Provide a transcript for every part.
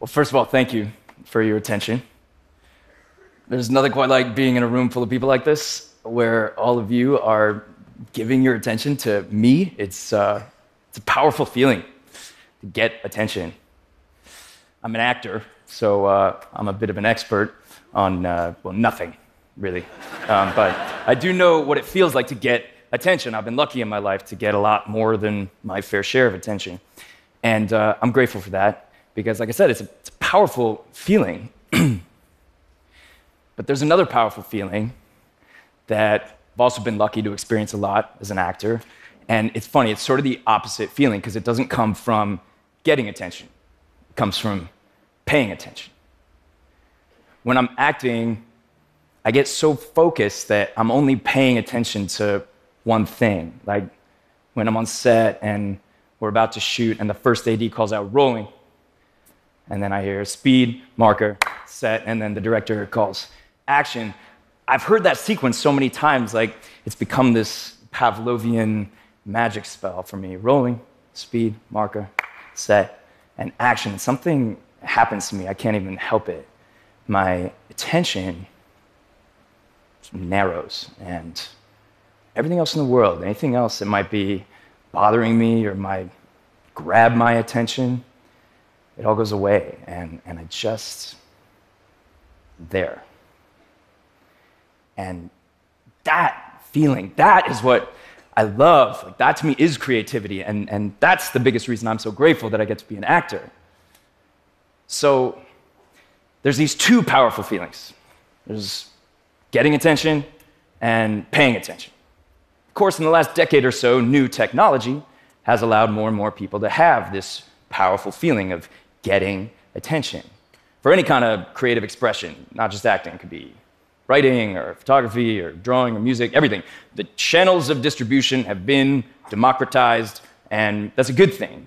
Well, first of all, thank you for your attention. There's nothing quite like being in a room full of people like this, where all of you are giving your attention to me. It's a powerful feeling to get attention. I'm an actor, so I'm a bit of an expert on, nothing, really. But I do know what it feels like to get attention. I've been lucky in my life to get a lot more than my fair share of attention. And I'm grateful for that, because like I said, it's a powerful feeling. But there's another powerful feeling that I've also been lucky to experience a lot as an actor. And it's funny, it's sort of the opposite feeling, because it doesn't come from getting attention. It comes from paying attention. When I'm acting, I get so focused that I'm only paying attention to one thing. Like when I'm on set and we're about to shoot and the first AD calls out rolling, and then I hear speed, marker, set, and then the director calls action. I've heard that sequence so many times, like it's become this Pavlovian magic spell for me. Rolling, speed, marker, set, and action. Something happens to me, I can't even help it. My attention narrows, and everything else in the world, anything else that might be bothering me or might grab my attention, it all goes away, and I just there. And that feeling, that is what I love. Like, that to me is creativity, and that's the biggest reason I'm so grateful that I get to be an actor. So there's these two powerful feelings. There's getting attention and paying attention. Of course, in the last decade or so, new technology has allowed more and more people to have this powerful feeling of getting attention for any kind of creative expression, not just acting. It could be writing or photography or drawing or music, everything. The channels of distribution have been democratized, and that's a good thing.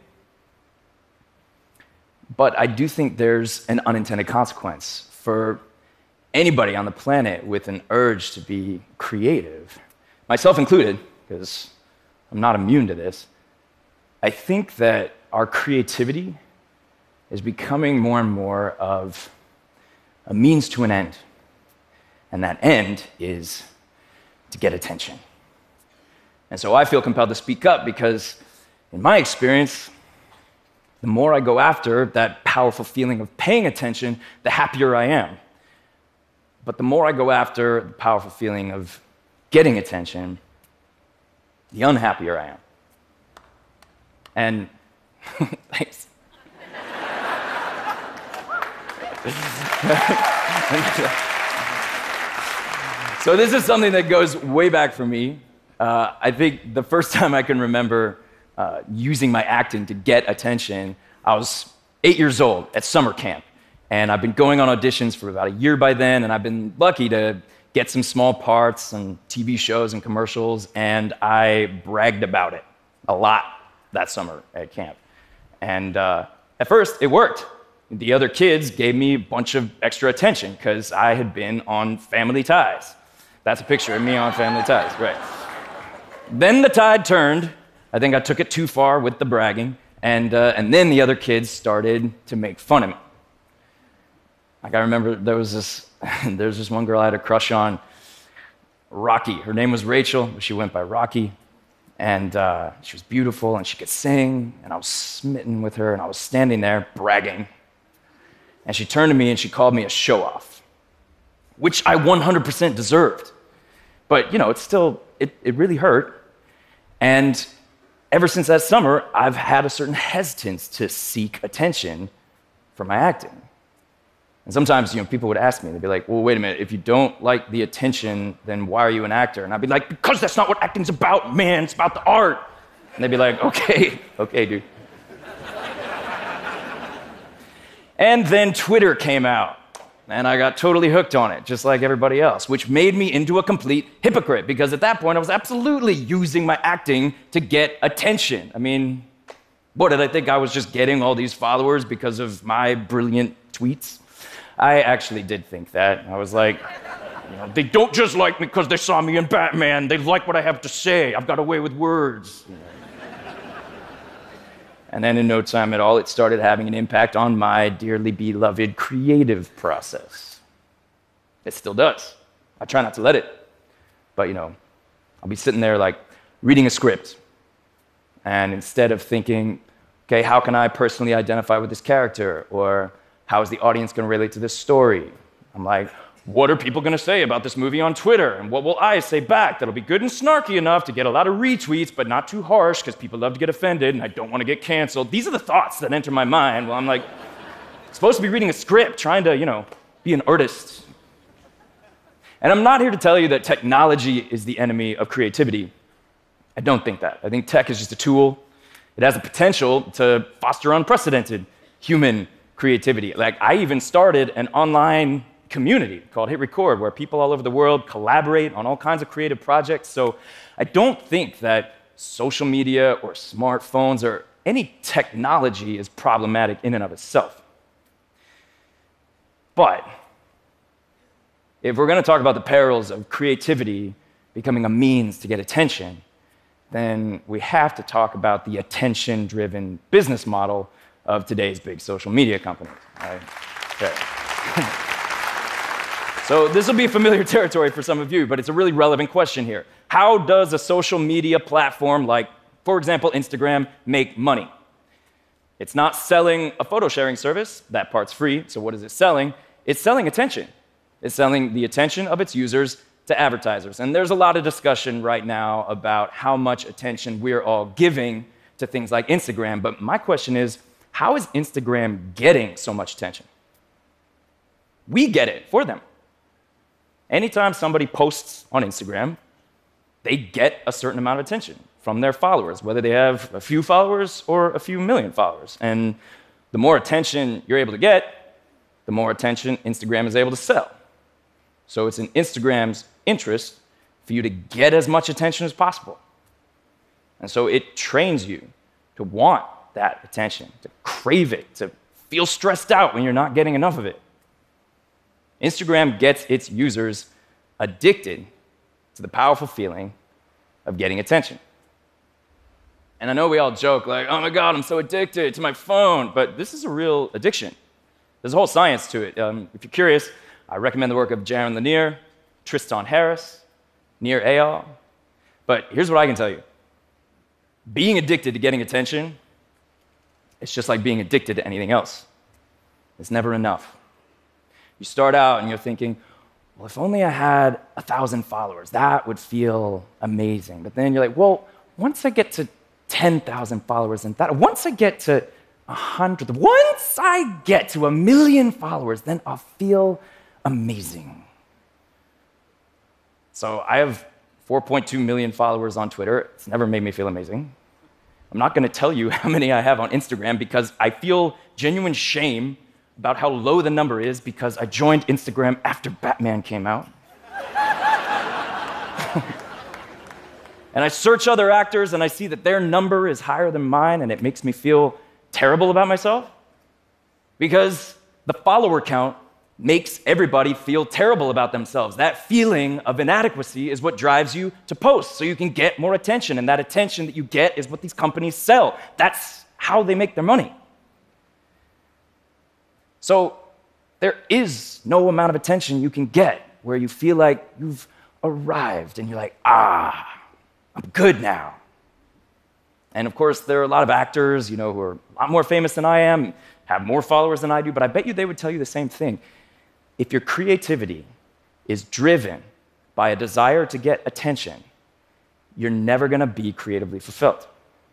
But I do think there's an unintended consequence for anybody on the planet with an urge to be creative, myself included, because I'm not immune to this. I think that our creativity is becoming more and more of a means to an end. And that end is to get attention. And so I feel compelled to speak up because, in my experience, the more I go after that powerful feeling of paying attention, the happier I am. But the more I go after the powerful feeling of getting attention, the unhappier I am. And thanks. So this is something that goes way back for me. I think the first time I can remember using my acting to get attention, I was 8 years old at summer camp. And I've been going on auditions for about a year by then, and I've been lucky to get some small parts on TV shows and commercials, and I bragged about it a lot that summer at camp. And at first, it worked. The other kids gave me a bunch of extra attention because I had been on Family Ties. That's a picture of me on Family Ties, right. Then the tide turned. I think I took it too far with the bragging, and then the other kids started to make fun of me. Like, I remember there was this one girl I had a crush on, Rocky. Her name was Rachel, but she went by Rocky. And she was beautiful, and she could sing, and I was smitten with her, and I was standing there bragging. And she turned to me, and she called me a show-off, which I 100% deserved. But, you know, it really hurt. And ever since that summer, I've had a certain hesitance to seek attention for my acting. And sometimes, people would ask me, they'd be like, well, wait a minute, if you don't like the attention, then why are you an actor? And I'd be like, because that's not what acting's about, man, it's about the art. And they'd be like, okay, dude. And then Twitter came out, and I got totally hooked on it, just like everybody else, which made me into a complete hypocrite, because at that point, I was absolutely using my acting to get attention. I mean, what, did I think I was just getting all these followers because of my brilliant tweets? I actually did think that. I was like, they don't just like me because they saw me in Batman. They like what I have to say. I've got a way with words. And then in no time at all, it started having an impact on my dearly beloved creative process. It still does. I try not to let it. But, I'll be sitting there like reading a script. And instead of thinking, okay, how can I personally identify with this character? Or how is the audience going to relate to this story? I'm like, what are people going to say about this movie on Twitter? And what will I say back that'll be good and snarky enough to get a lot of retweets, but not too harsh, because people love to get offended, and I don't want to get canceled. These are the thoughts that enter my mind while I'm like, supposed to be reading a script, trying to, be an artist. And I'm not here to tell you that technology is the enemy of creativity. I don't think that. I think tech is just a tool. It has the potential to foster unprecedented human creativity. Like, I even started an online community called Hit Record, where people all over the world collaborate on all kinds of creative projects. So I don't think that social media or smartphones or any technology is problematic in and of itself. But if we're going to talk about the perils of creativity becoming a means to get attention, then we have to talk about the attention-driven business model of today's big social media companies. Right? Okay. So this will be familiar territory for some of you, but it's a really relevant question here. How does a social media platform like, for example, Instagram, make money? It's not selling a photo sharing service. That part's free. So what is it selling? It's selling attention. It's selling the attention of its users to advertisers. And there's a lot of discussion right now about how much attention we're all giving to things like Instagram. But my question is, how is Instagram getting so much attention? We get it for them. Anytime somebody posts on Instagram, they get a certain amount of attention from their followers, whether they have a few followers or a few million followers. And the more attention you're able to get, the more attention Instagram is able to sell. So it's in Instagram's interest for you to get as much attention as possible. And so it trains you to want that attention, to crave it, to feel stressed out when you're not getting enough of it. Instagram gets its users addicted to the powerful feeling of getting attention. And I know we all joke like, oh my God, I'm so addicted to my phone, but this is a real addiction. There's a whole science to it. If you're curious, I recommend the work of Jaron Lanier, Tristan Harris, Nir Eyal. But here's what I can tell you. Being addicted to getting attention, it's just like being addicted to anything else. It's never enough. You start out and you're thinking, well, if only I had 1,000 followers, that would feel amazing. But then you're like, well, once I get to 10,000 followers and that, once I get to 100, once I get to 1 million followers, then I'll feel amazing. So I have 4.2 million followers on Twitter. It's never made me feel amazing. I'm not going to tell you how many I have on Instagram because I feel genuine shame about how low the number is because I joined Instagram after Batman came out. And I search other actors and I see that their number is higher than mine, and it makes me feel terrible about myself because the follower count makes everybody feel terrible about themselves. That feeling of inadequacy is what drives you to post so you can get more attention, and that attention that you get is what these companies sell. That's how they make their money. So there is no amount of attention you can get where you feel like you've arrived and you're like, I'm good now. And of course, there are a lot of actors, who are a lot more famous than I am, have more followers than I do, but I bet you they would tell you the same thing. If your creativity is driven by a desire to get attention, you're never going to be creatively fulfilled.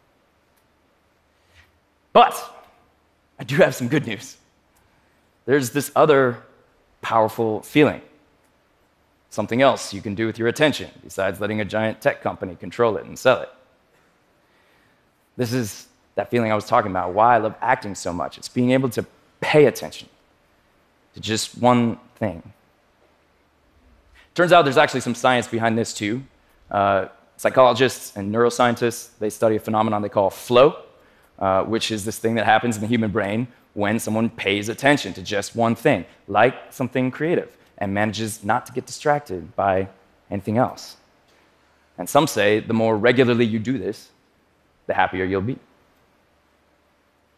But I do have some good news. There's this other powerful feeling, something else you can do with your attention besides letting a giant tech company control it and sell it. This is that feeling I was talking about, why I love acting so much. It's being able to pay attention to just one thing. Turns out there's actually some science behind this too. Psychologists and neuroscientists, they study a phenomenon they call flow, which is this thing that happens in the human brain when someone pays attention to just one thing, like something creative, and manages not to get distracted by anything else. And some say the more regularly you do this, the happier you'll be.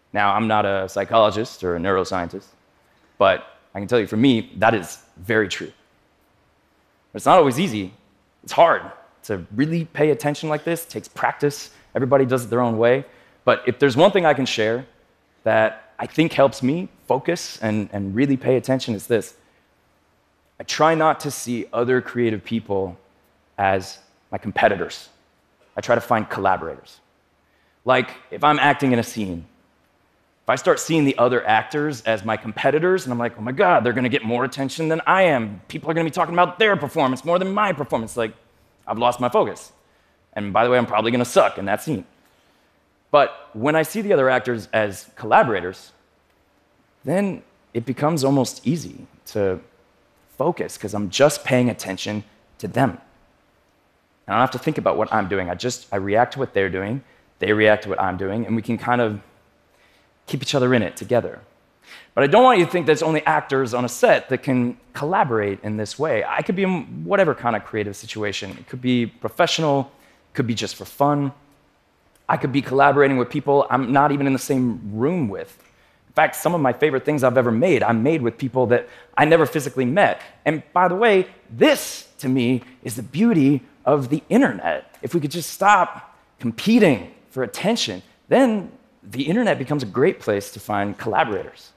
Now, I'm not a psychologist or a neuroscientist, but I can tell you for me, that is very true. But it's not always easy. It's hard to really pay attention like this. It takes practice. Everybody does it their own way. But if there's one thing I can share that I think helps me focus and really pay attention, it's this. I try not to see other creative people as my competitors. I try to find collaborators. Like, if I'm acting in a scene, if I start seeing the other actors as my competitors, and I'm like, oh my God, they're gonna get more attention than I am. People are gonna be talking about their performance more than my performance. Like, I've lost my focus. And by the way, I'm probably gonna suck in that scene. But when I see the other actors as collaborators, then it becomes almost easy to focus because I'm just paying attention to them. And I don't have to think about what I'm doing. I react to what they're doing, they react to what I'm doing, and we can kind of keep each other in it together. But I don't want you to think that it's only actors on a set that can collaborate in this way. I could be in whatever kind of creative situation. It could be professional, it could be just for fun. I could be collaborating with people I'm not even in the same room with. In fact, some of my favorite things I've ever made, I made with people that I never physically met. And by the way, this, to me, is the beauty of the internet. If we could just stop competing for attention, then the internet becomes a great place to find collaborators.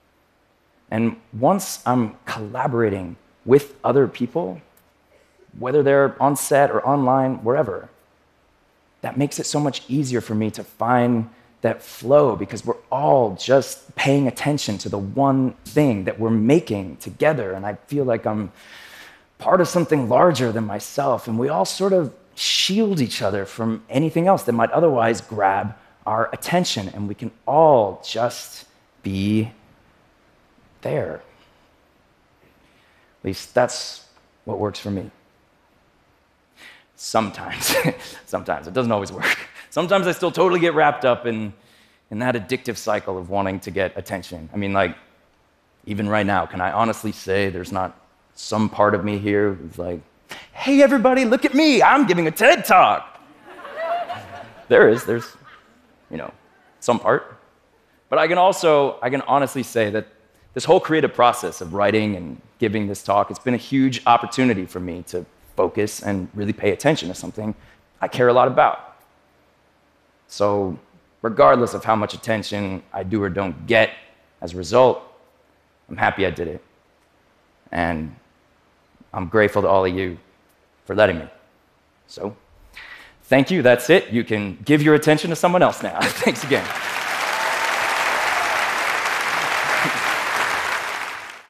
And once I'm collaborating with other people, whether they're on set or online, wherever, that makes it so much easier for me to find that flow because we're all just paying attention to the one thing that we're making together. And I feel like I'm part of something larger than myself. And we all sort of shield each other from anything else that might otherwise grab our attention. And we can all just be there. At least that's what works for me. Sometimes. Sometimes. It doesn't always work. Sometimes I still totally get wrapped up in that addictive cycle of wanting to get attention. I mean, like, even right now, can I honestly say there's not some part of me here who's like, hey, everybody, look at me, I'm giving a TED Talk. There's, some part. But I can honestly say that this whole creative process of writing and giving this talk, it's been a huge opportunity for me to focus and really pay attention to something I care a lot about. So regardless of how much attention I do or don't get as a result, I'm happy I did it. And I'm grateful to all of you for letting me. So thank you, that's it. You can give your attention to someone else now. Thanks again.